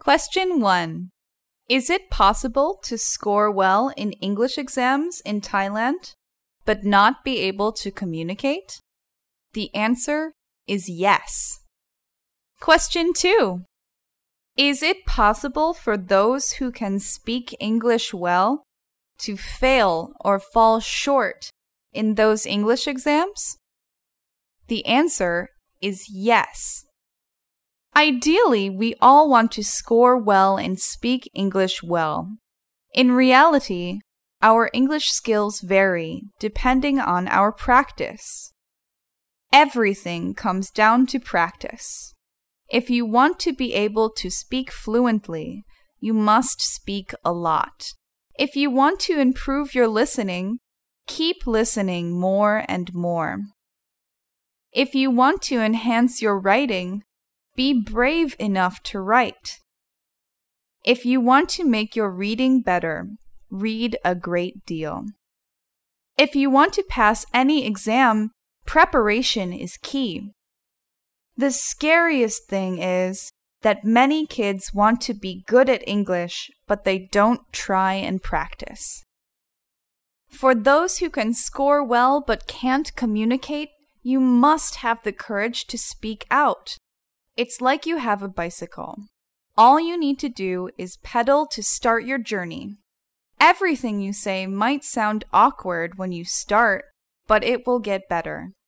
Question 1. Is it possible to score well in English exams in Thailand, but not be able to communicate? The answer is yes. Question 2. Is it possible for those who can speak English well to fail or fall short in those English exams? The answer is yes. Ideally, we all want to score well and speak English well. In reality, our English skills vary depending on our practice. Everything comes down to practice. If you want to be able to speak fluently, you must speak a lot. If you want to improve your listening, keep listening more and more. If you want to enhance your writing, be brave enough to write. If you want to make your reading better, read a great deal. If you want to pass any exam, preparation is key. The scariest thing is that many kids want to be good at English, but they don't try and practice. For those who can score well but can't communicate, you must have the courage to speak out. It's like you have a bicycle. All you need to do is pedal to start your journey. Everything you say might sound awkward when you start, but it will get better.